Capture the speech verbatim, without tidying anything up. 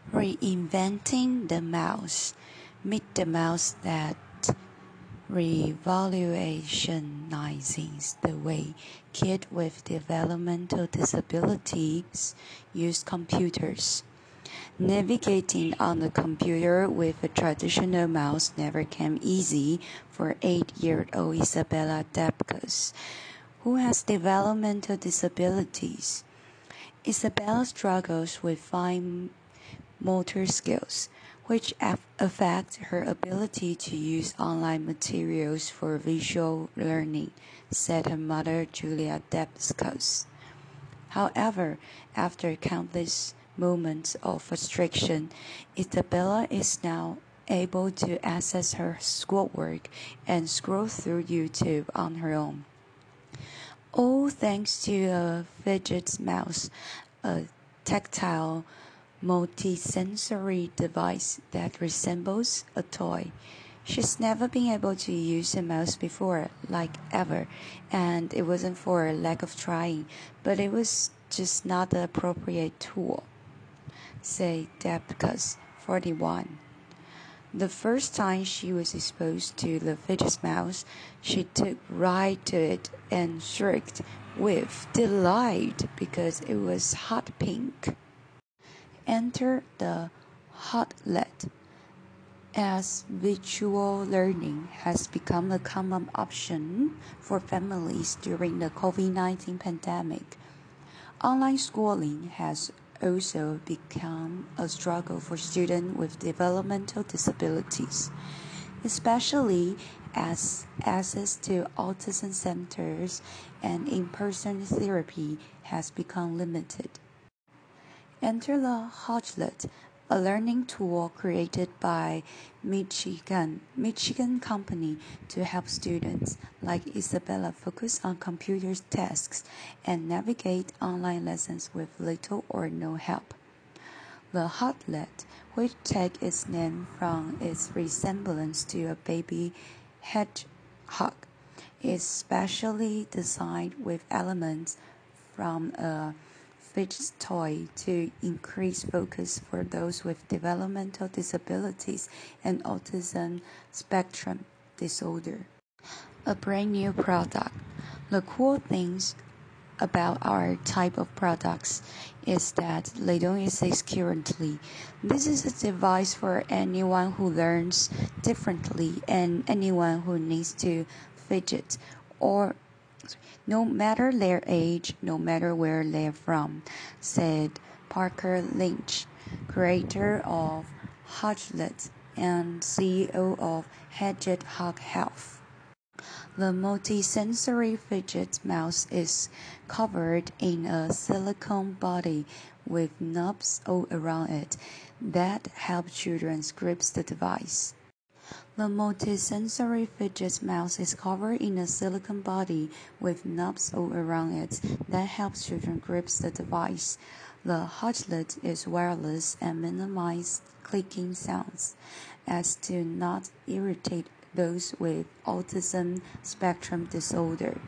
Reinventing the mouse. Meet the mouse that revolutionizes the way kids with developmental disabilities use computers. Navigating on the computer with a traditional mouse never came easy for eight-year-old Isabella Debkus, who has developmental disabilities. Isabella struggles with fine motor skills, which affect her ability to use online materials for visual learning, said her mother, Julia Debkus. However, after countless moments of frustration, Isabella is now able to access her schoolwork and scroll through YouTube on her own. All thanks to a fidget mouse, a tactile multi-sensory device that resembles a toy. She's never been able to use a mouse before, like ever, and it wasn't for a lack of trying, but it was just not the appropriate tool, said Debkus, forty-one. The first time she was exposed to the fidget mouse, she took right to it and shrieked with delight because it was hot pink. Enter the Hotlet, as virtual learning has become a common option for families during the COVID nineteen pandemic. Online schooling has also become a struggle for students with developmental disabilities, especially as access to autism centers and in-person therapy has become limited. Enter the Hotlet, a learning tool created by Michigan Michigan company to help students like Isabella focus on computer tasks and navigate online lessons with little or no help. The Hotlet, which takes its name from its resemblance to a baby hedgehog, is specially designed with elements from a fidget toy to increase focus for those with developmental disabilities and autism spectrum disorder. A brand new product. The cool things about our type of products is that they don't exist currently. This is a device for anyone who learns differently and anyone who needs to fidget or no matter their age, no matter where they're from, said Parker Lynch, creator of Hotlet and C E O of Hedgehog Health. The multi-sensory fidget mouse is covered in a silicone body with knobs all around it that help children grasp the device. The multi-sensory fidget mouse is covered in a silicone body with knobs all around it that helps children grasp the device. The Hotlet is wireless and minimizes clicking sounds as to not irritate those with autism spectrum disorder.